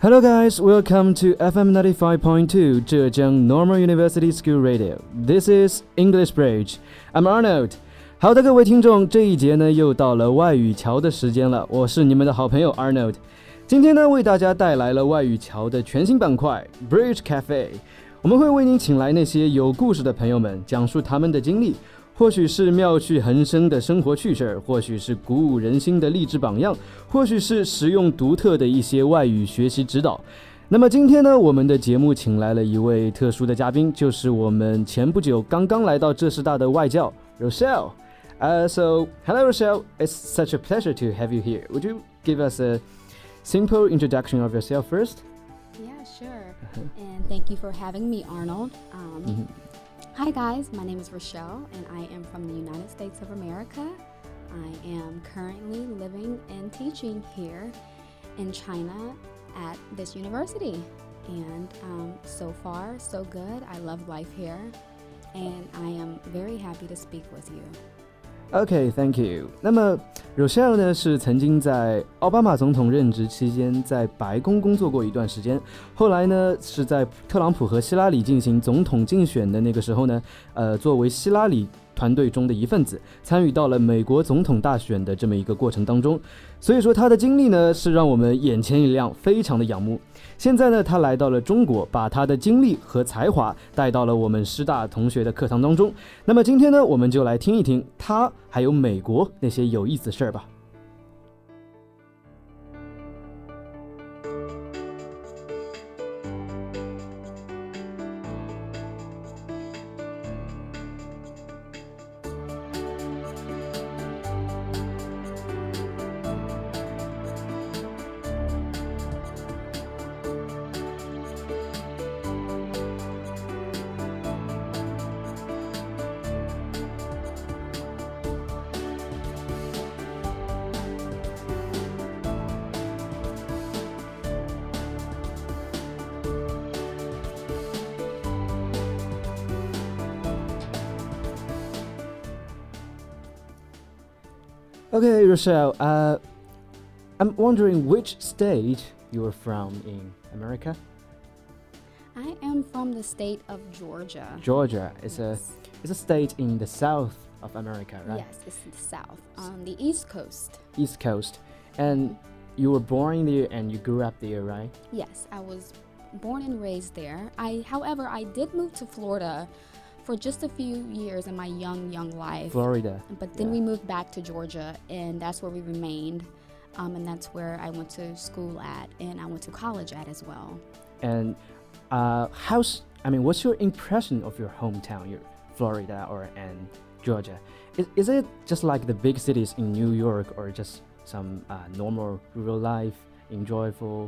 Hello guys, welcome to FM 95.2 Zhejiang Normal University School Radio. This is English Bridge. I'm Arnold. 好的，各位听众，这一节呢又到了外语桥的时间了，我是你们的好朋友 Arnold。今天呢为大家带来了外语桥的全新板块 Bridge Cafe。我们会为您请来那些有故事的朋友们，讲述他们的经历。或许是妙趣横生的生活趣事，或许是鼓舞人心的励志榜样，或许是实用独特的一些外语学习指导。那么今天呢，我们的节目请来了一位特殊的嘉宾，就是我们前不久刚刚来到浙师大的外教 Rochelle. So, hello Rochelle, it's such a pleasure to have you here. Would you give us a simple introduction of yourself first? Yeah, sure. And thank you for having me, Arnold. Hi guys, my name is Rochelle and I am from the United States of America. I am currently living and teaching here in China at this university. And so far, so good. I love life here and I am very happy to speak with you. Okay, thank you. 那么 Rochelle 呢是曾经在奥巴马总统任职期间在白宫工作过一段时间，后来呢是在特朗普和希拉里进行总统竞选的那个时候呢，作为希拉里团队中的一份子，参与到了美国总统大选的这么一个过程当中。所以说他的经历呢是让我们眼前一亮，非常的仰慕。现在呢他来到了中国，把他的经历和才华带到了我们师大同学的课堂当中。那么今天呢我们就来听一听他还有美国那些有意思的事儿吧。Okay, Rochelle, I'm wondering which state you're from in America? I am from the state of Georgia. Georgia is a state in the south of America, right? Yes, it's the south, on the East Coast. East Coast. And you were born there and you grew up there, right? Yes, I was born and raised there. However, I did move to Florida for just a few years in my young life. Florida. But then we moved back to Georgia, and that's where we remained. And that's where I went to school at, and I went to college at as well. And what's your impression of your hometown, your Florida and Georgia? Is it just like the big cities in New York, or just some normal rural life, enjoyable?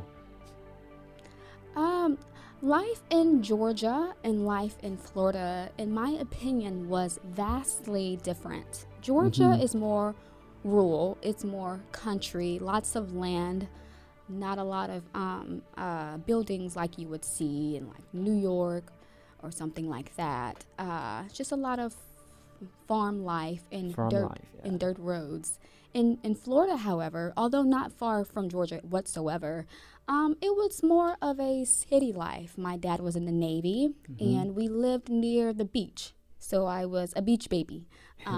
Life in Georgia and life in Florida, in my opinion, was vastly different. Georgia is more rural, it's more country, lots of land, not a lot of buildings like you would see in like New York or something like that. Just a lot of farm life and dirt roads. In Florida, however, although not far from Georgia whatsoever, it was more of a city life. My dad was in the Navy, and we lived near the beach, so I was a beach baby.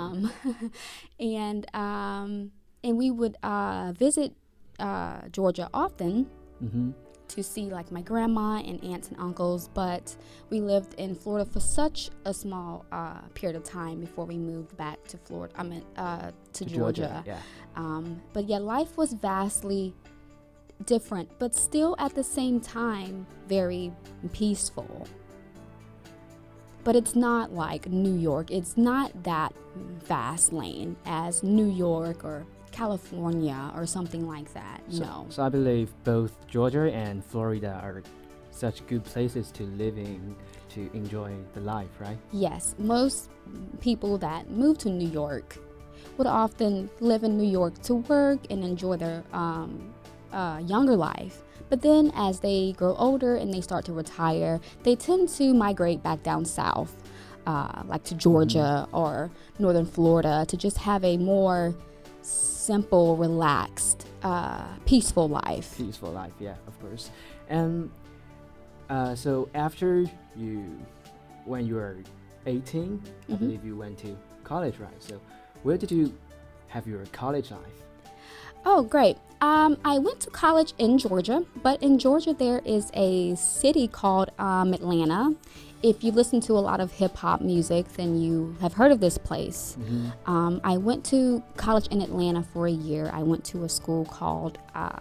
And we would visit Georgia often to see like my grandma and aunts and uncles, but we lived in Florida for such a small period of time before we moved back to Florida. To Georgia. Yeah. But yeah, life was vastly different, but still at the same time very peaceful. But it's not like New York. It's not that fast lane as New York or California or something like that. So I believe both Georgia and Florida are such good places to live in, to enjoy the life, right? Yes, most people that move to New York would often live in New York to work and enjoy their younger life. But then as they grow older and they start to retire, they tend to migrate back down south, like to Georgia or northern Florida, to just have a more simple, relaxed, peaceful life. Peaceful life, yeah, of course. And so after when you were 18, I believe you went to college, right? So where did you have your college life? Oh, great. I went to college in Georgia, but in Georgia there is a city called Atlanta. If you listen to a lot of hip hop music, then you have heard of this place. I went to college in Atlanta for a year. I went to a school called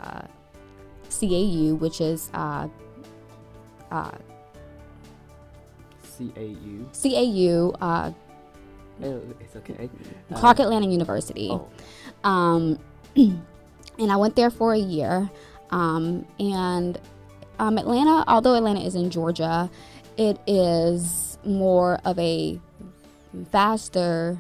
CAU, which is CAU? CAU, Oh, it's okay. Clark Atlanta University. Oh. And I went there for a year. And Atlanta, although Atlanta is in Georgia, it is more of a faster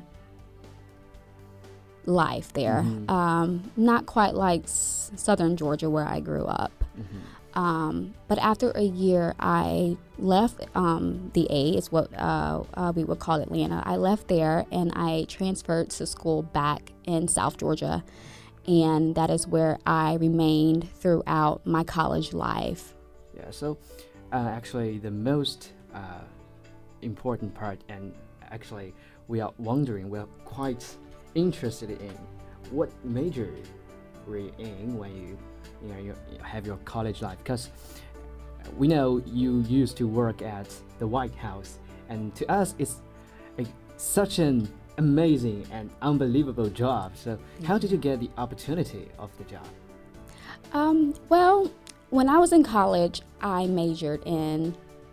life there. Not quite like southern Georgia where I grew up. But after a year, I left the A, is what we would call Atlanta. I left there and I transferred to school back in South Georgia. And that is where I remained throughout my college life. Yeah, so actually the most important part, and actually we are quite interested in what major were you in when you have your college life, because we know you used to work at the White House, and to us it's such an amazing and unbelievable job. So how did you get the opportunity of the job? Well, when I was in college, I majored in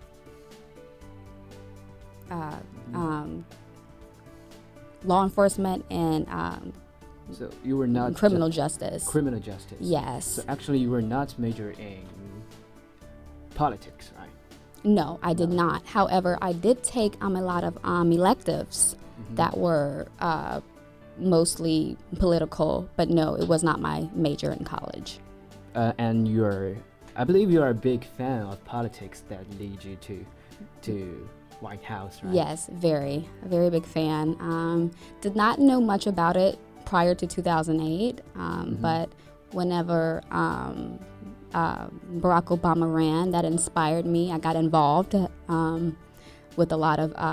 law enforcement and so you were not criminal justice. Criminal justice. Yes. So actually you were not majored in politics, right? No, I did not. However, I did take a lot of electives that were mostly political, but no, it was not my major in college. And I believe you're a big fan of politics that lead you to White House, right? Yes, a very big fan. Did not know much about it prior to 2008, but whenever Barack Obama ran, that inspired me. I got involved with a lot of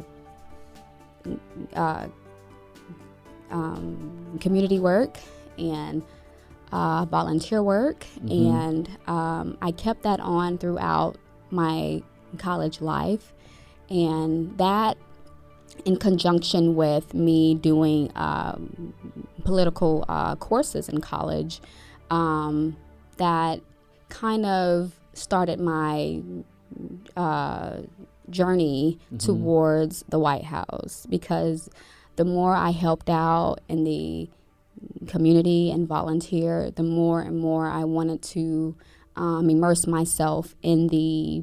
community work and volunteer work, and I kept that on throughout my college life, and that in conjunction with me doing political courses in college, that kind of started my journey towards the White House, because the more I helped out in the community and volunteer, the more and more I wanted to immerse myself in the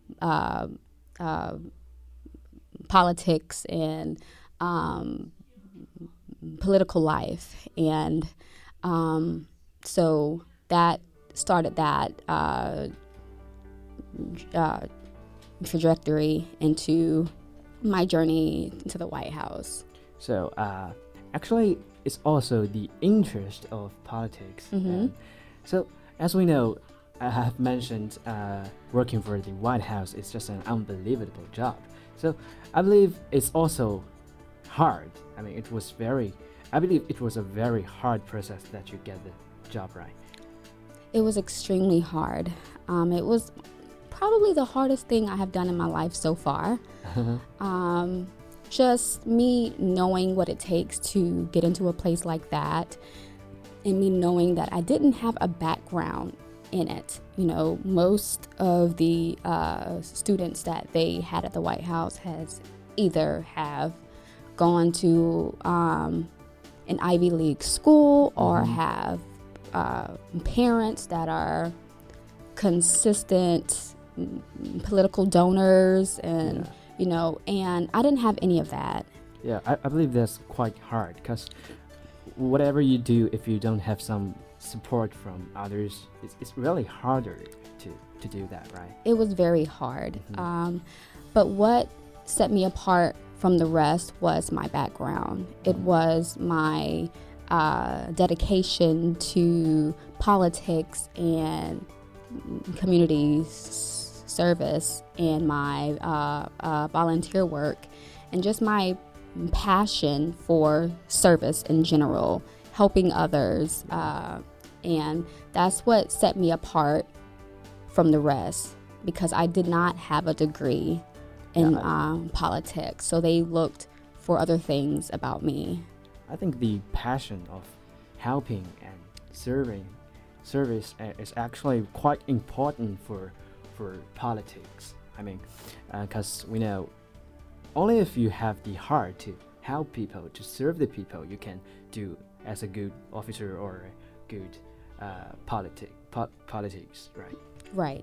politics and political life. And so that started that trajectory into my journey to the White House. So actually it's also the interest of politics. So as we know, I have mentioned working for the White House is just an unbelievable job. So I believe it's also hard. I mean, I believe it was a very hard process that you get the job, right? It was extremely hard. It was probably the hardest thing I have done in my life so far. Just me knowing what it takes to get into a place like that, and me knowing that I didn't have a background in it. You know, most of the students that they had at the White House has either have gone to an Ivy League school or have parents that are consistent political donors, and you know, and I didn't have any of that. Yeah, I believe that's quite hard, because whatever you do, if you don't have some support from others, it's really harder to do that, right? It was very hard. But what set me apart from the rest was my background. It was my dedication to politics and community service and my volunteer work and just my passion for service in general, helping others, and that's what set me apart from the rest, because I did not have a degree in politics, so they looked for other things about me. I think the passion of helping and service is actually quite important for politics. I mean, because we know only if you have the heart to help people, to serve the people, you can do as a good officer or a good politics, right? Right.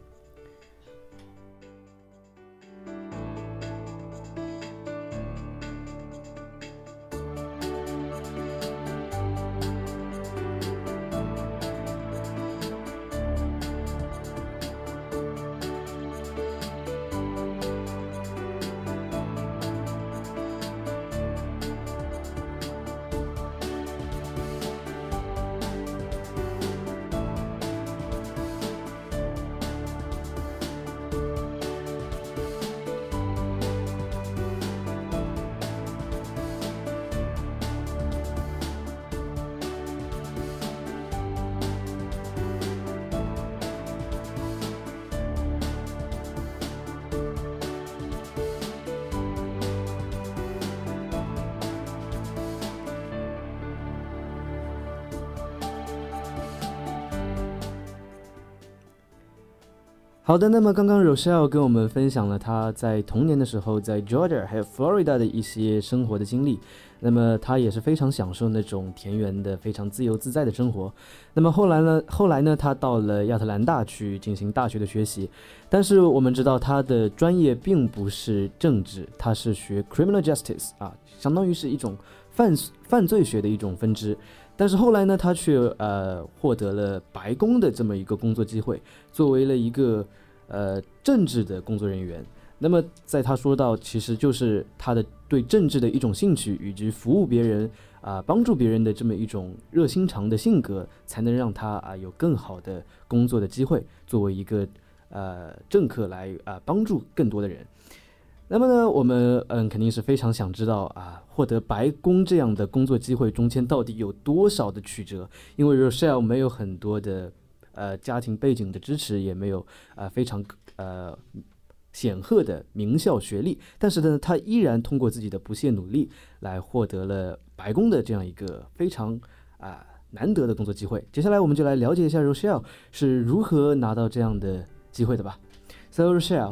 好的，那么刚刚 Rochelle 跟我们分享了她在童年的时候在 Georgia 还有 Florida 的一些生活的经历，那么她也是非常享受那种田园的非常自由自在的生活。那么后来呢她到了亚特兰大去进行大学的学习，但是我们知道她的专业并不是政治，她是学 Criminal Justice 相当于是一种犯罪学的一种分支。但是后来呢，他却获得了白宫的这么一个工作机会，作为了一个政治的工作人员。那么在他说到，其实就是他的对政治的一种兴趣，以及服务别人帮助别人的这么一种热心肠的性格，才能让他有更好的工作的机会，作为一个政客来帮助更多的人。那么呢，我们肯定是非常想知道获得白宫这样的工作机会中间到底有多少的曲折，因为 Rochelle 没有很多的家庭背景的支持，也没有非常显赫的名校学历，但是呢，他依然通过自己的不懈努力来获得了白宫的这样一个非常难得的工作机会。接下来我们就来了解一下 Rochelle 是如何拿到这样的机会的吧。So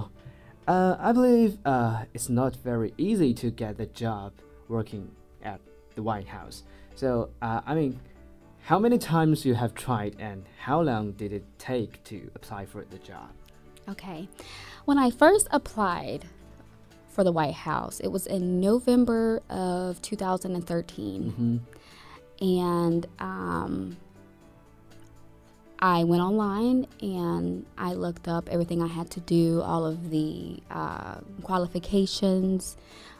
Rochelle,I believe it's not very easy to get the job working at the White House. So, I mean, how many times you have tried and how long did it take to apply for the job? Okay. When I first applied for the White House, it was in November of 2013. And I went online and I looked up everything I had to do, all of the qualifications.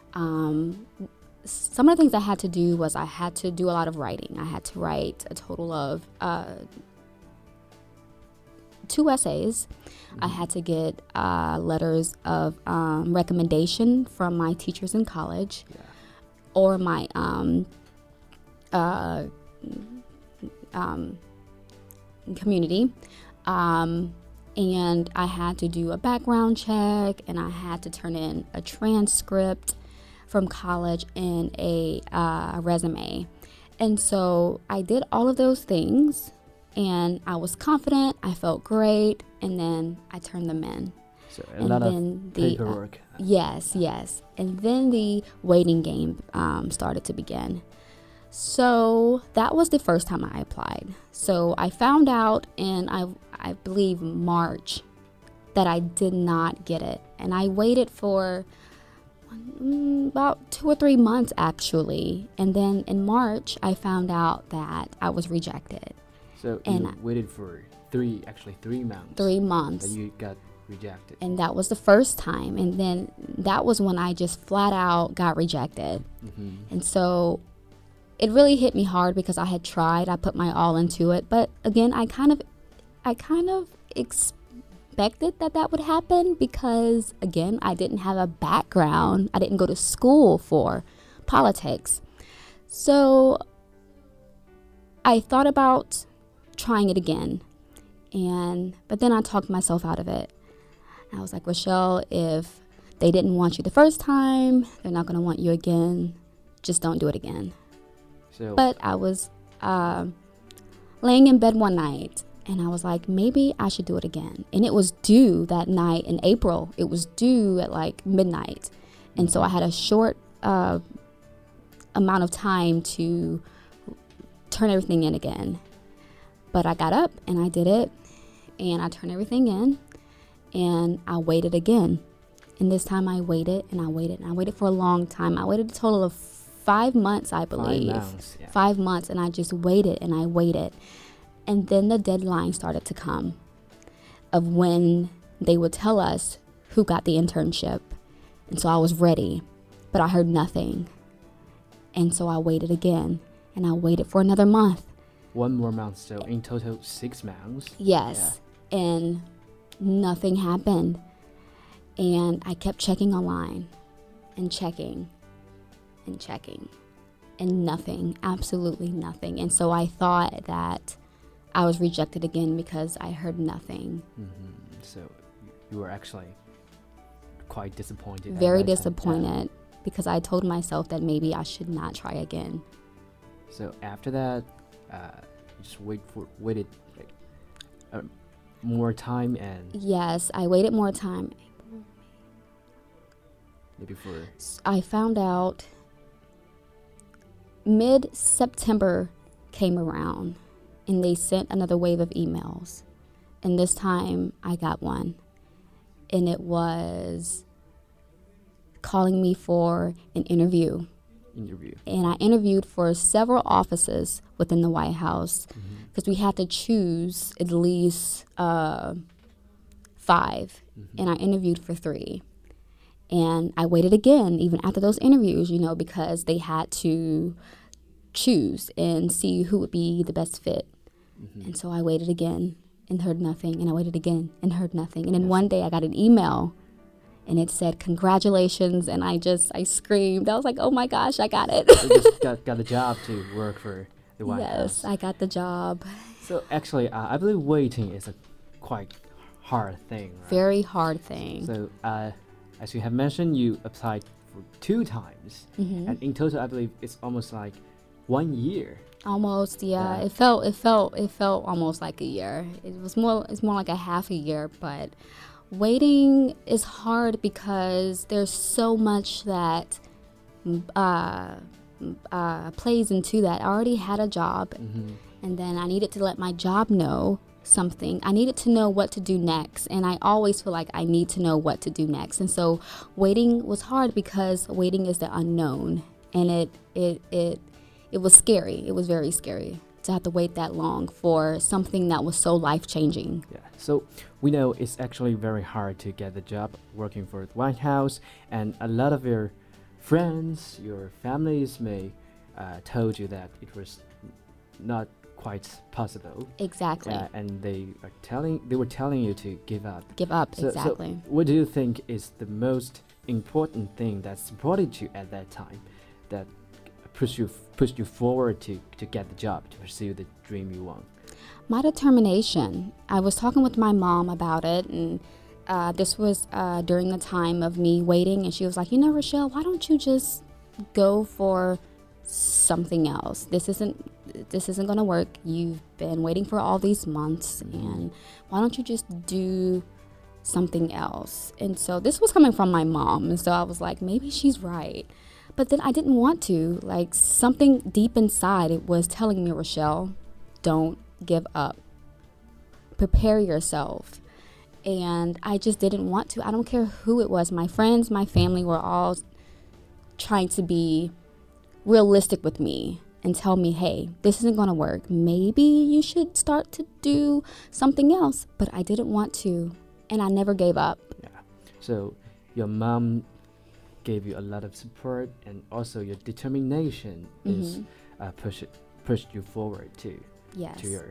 Some of the things I had to do was I had to do a lot of writing. I had to write a total of 2 essays. I had to get letters of recommendation from my teachers in college or my community, and I had to do a background check, and I had to turn in a transcript from college and a resume. And so I did all of those things, and I was confident, I felt great, and then I turned them in. So a lot of paperwork. Yes. And then the waiting game started to begin. So that was the first time I applied. So I found out in, I believe, March that I did not get it. And I waited for about 2 or 3 months, actually. And then in March, I found out that I was rejected. So you waited for 3 months. 3 months. That you got rejected. And that was the first time. And then that was when I just flat out got rejected. And so it really hit me hard because I had tried, I put my all into it, but again, I kind of expected that would happen because, again, I didn't have a background. I didn't go to school for politics. So I thought about trying it again. But then I talked myself out of it. I was like, Rochelle, if they didn't want you the first time, they're not going to want you again. Just don't do it again. But I was laying in bed one night, and I was like, maybe I should do it again. And it was due that night in April. It was due at like midnight. And so I had a short amount of time to turn everything in again. But I got up and I did it, and I turned everything in, and I waited again. And this time I waited and I waited and I waited for a long time. I waited a total of 5 months, I believe. 5 months, yeah. 5 months, and I just waited and I waited. And then the deadline started to come of when they would tell us who got the internship. And so I was ready, but I heard nothing. And so I waited again, and I waited for another month. 1 more month, so in total 6 months. Yes, yeah. And nothing happened. And I kept checking online and checking and checking, and nothing, absolutely nothing. And so I thought that I was rejected again because I heard nothing. Mm-hmm. So you were actually quite disappointed. Very disappointed, because I told myself that maybe I should not try again. So after that, you just waited like, more time, and yes, I waited more time. Maybe for I found out mid-September came around, and they sent another wave of emails. And this time I got one, and it was calling me for an interview. And I interviewed for several offices within the White House, because we had to choose at least 5. And I interviewed for 3. And I waited again, even after those interviews, because they had to choose and see who would be the best fit. And so I waited again and heard nothing, and I waited again and heard nothing. And then one day I got an email, and it said, congratulations, and I screamed. I was like, oh my gosh, I got it. You just got the job to work for the White House. Yes, I got the job. So actually, I believe waiting is a quite hard thing, right? Very hard thing. So as you have mentioned, you applied for 2 times, and in total, I believe it's almost like 1 year. Almost, yeah. It felt almost like a year. It's more like a half a year, but waiting is hard because there's so much that plays into that. I already had a job, and then I needed to let my job know something. I needed to know what to do next, and I always feel like I need to know what to do next. And so waiting was hard because waiting is the unknown, and it was scary. It was very scary to have to wait that long for something that was so life-changing. Yeah. So we know it's actually very hard to get the job working for the White House, and a lot of your friends, your families may told you that it was not quite possible. Exactly. And they were telling you to give up. Give up, so, exactly. So what do you think is the most important thing that supported you at that time, that pushed you forward to get the job, to pursue the dream you want? My determination. I was talking with my mom about it, and this was during the time of me waiting, and she was like, Rochelle, why don't you just go for something else? This isn't going to work. You've been waiting for all these months, and why don't you just do something else? And so this was coming from my mom, and so I was like, maybe she's right. But then I didn't want to. Like, something deep inside, it was telling me, Rochelle, don't give up. Prepare yourself. And I just didn't want to. I don't care who it was. My friends, my family were all trying to be realistic with me and tell me, hey, this isn't going to work. Maybe you should start to do something else. But I didn't want to. And I never gave up. Yeah. So your mom gave you a lot of support, and also your determination is pushed you forward to Yes. to your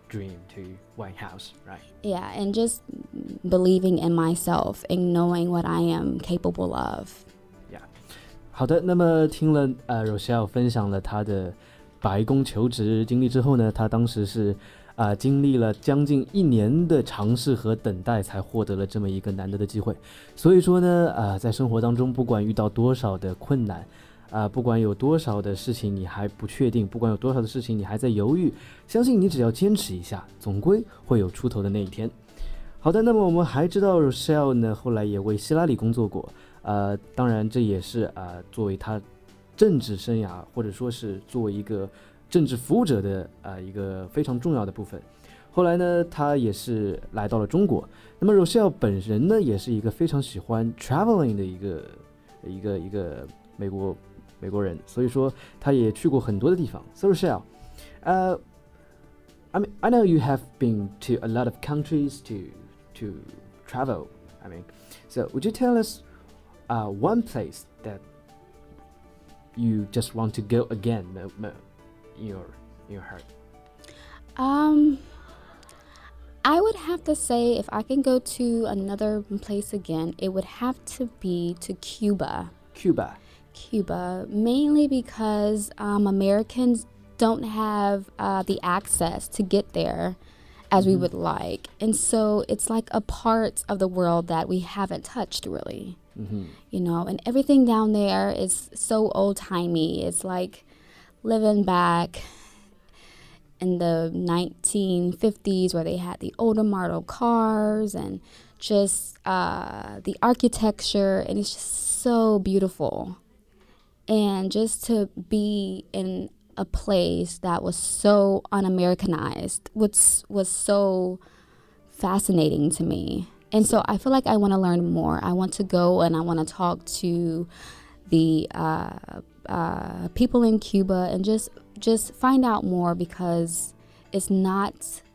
dream to White House, right? Yeah, and just believing in myself and knowing what I am capable of. Yeah. 好的，那么听了Rochelle 分享了她的白宫求职经历之后呢，她当时是经历了将近1年的尝试和等待，才获得了这么一个难得的机会。所以说呢，在生活当中，不管遇到多少的困难，不管有多少的事情你还不确定，不管有多少的事情你还在犹豫，相信你只要坚持一下，总归会有出头的那一天。好的，那么我们还知道 Rochelle 呢，后来也为希拉里工作过，当然这也是作为他政治生涯或者说是作为一个政治服务者的一个非常重要的部分。后来呢，他也是来到了中国。那么 Rochelle 本人呢，也是一个非常喜欢 traveling 的一个美国人，所以说他也去过很多的地方。So Rochelle, I know you have been to a lot of countries to travel. So would you tell us one place that you just want to go again in your heart? I would have to say if I can go to another place again, it would have to be to Cuba. Cuba, mainly because Americans don't have the access to get there as we would like. And so it's like a part of the world that we haven't touched really. You know, and everything down there is so old-timey. It's like living back in the 1950s where they had the older model cars and just the architecture, and it's just so beautiful. And just to be in a place that was so un-Americanized was so fascinating to me. And so I feel like I want to learn more. I want to go and I want to talk to the people in Cuba and just find out more, because it's not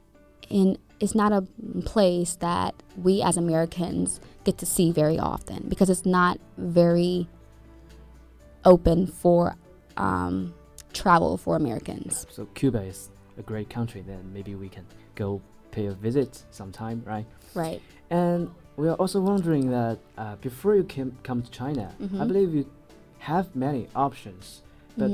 a place that we as Americans get to see very often, because it's not very open for travel for Americans. So Cuba is a great country. Then maybe we can go pay a visit sometime, right? Right. And we are also wondering that before you come to China, I believe you have many options. But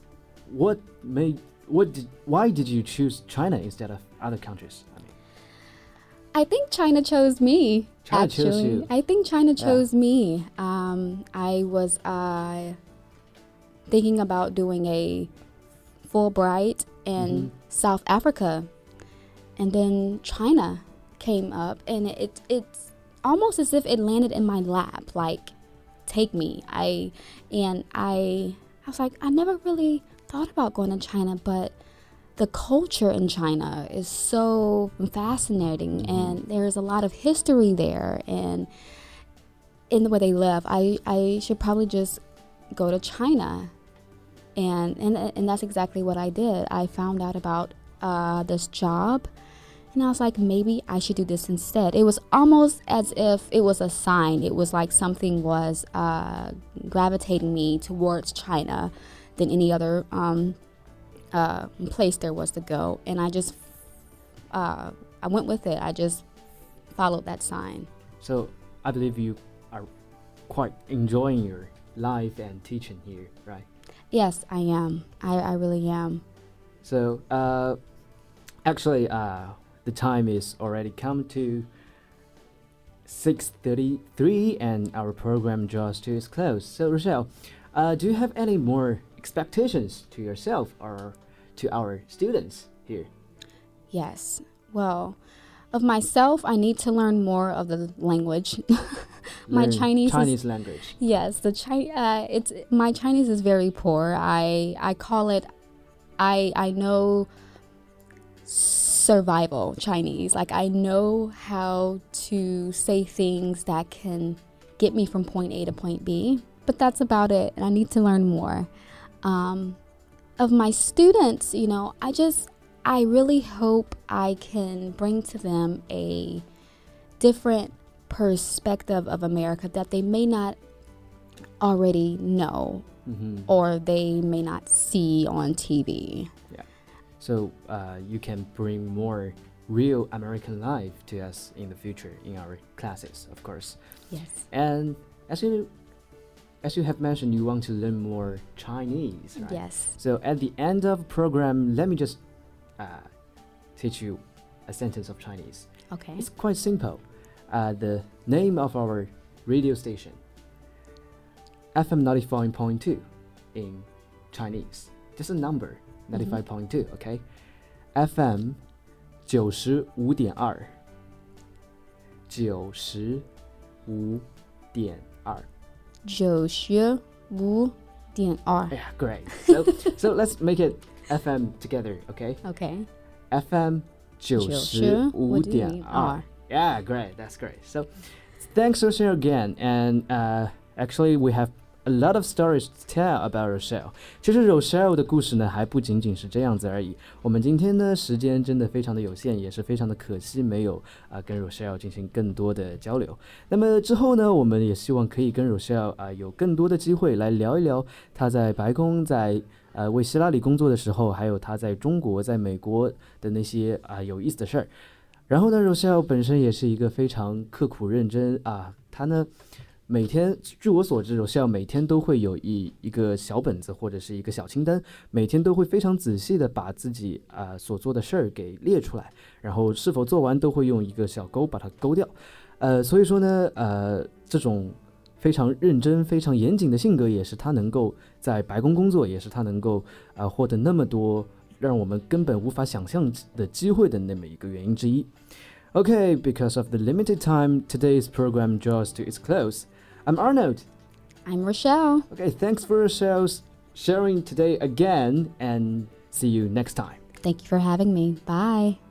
why did you choose China instead of other countries? I think China chose me. China chose you. I think China chose me. I was thinking about doing a Fulbright in South Africa, and then China came up, and it's almost as if it landed in my lap, like, take me. I was like, I never really thought about going to China, but the culture in China is so fascinating, and there's a lot of history there, and in the way they live. I should probably just go to China, and that's exactly what I did. I found out about this job, and I was like, maybe I should do this instead. It was almost as if it was a sign. It was like something was gravitating me towards China than any other place there was to go. And I went with it. I just followed that sign. So I believe you are quite enjoying your life and teaching here, right? Yes, I am. I really am. So actually the time is already come to 6:33 and our program draws to its close. So Rochelle, do you have any more expectations to yourself or to our students here? Yes. Well, of myself, I need to learn more of the language. My Chinese language. Yes, my Chinese is very poor. I call it, I know survival Chinese. Like, I know how to say things that can get me from point A to point B, but that's about it, and I need to learn more. Of my students, you know, I really hope I can bring to them a different perspective of America that they may not already know or they may not see on TV. Yeah. so you can bring more real American life to us in the future in our classes, of course. Yes. And as you have mentioned, you want to learn more Chinese, right? Yes. So at the end of the program, let me just teach you a sentence of Chinese. Okay. It's quite simple. The name of our radio station, FM 95.2 in Chinese. Just a number, 95.2, okay? FM 95.2 95.2 95.2 Yeah, great. So let's make it FM together, okay? Okay. FM 95.2 Yeah, great. That's great. So thanks, Rochelle, again. And actually, we have a lot of stories to tell about Rochelle. 其实 Rochelle 的故事呢，还不仅仅是这样子而已。我们今天呢，时间真的非常的有限，也是非常的可惜，没有跟 Rochelle 进行更多的交流。那么之后呢，我们也希望可以跟 Rochelle 有更多的机会来聊一聊她在白宫在为希拉里工作的时候，还有她在中国、在美国的那些有意思的事儿。然后呢 ，Rochelle 本身也是一个非常刻苦认真她呢每天，据我所知 ，Rochelle 每天都会有一个小本子或者是一个小清单，每天都会非常仔细的把自己所做的事儿给列出来，然后是否做完都会用一个小勾把它勾掉。所以说呢，这种非常认真、非常严谨的性格，也是他能够在白宫工作，也是他能够获得那么多让我们根本无法想象的机会的那么一个原因之一。Okay, because of the limited time, today's program draws to its close. I'm Arnold. I'm Rochelle. Okay, thanks for Rochelle's sharing today again, and see you next time. Thank you for having me. Bye.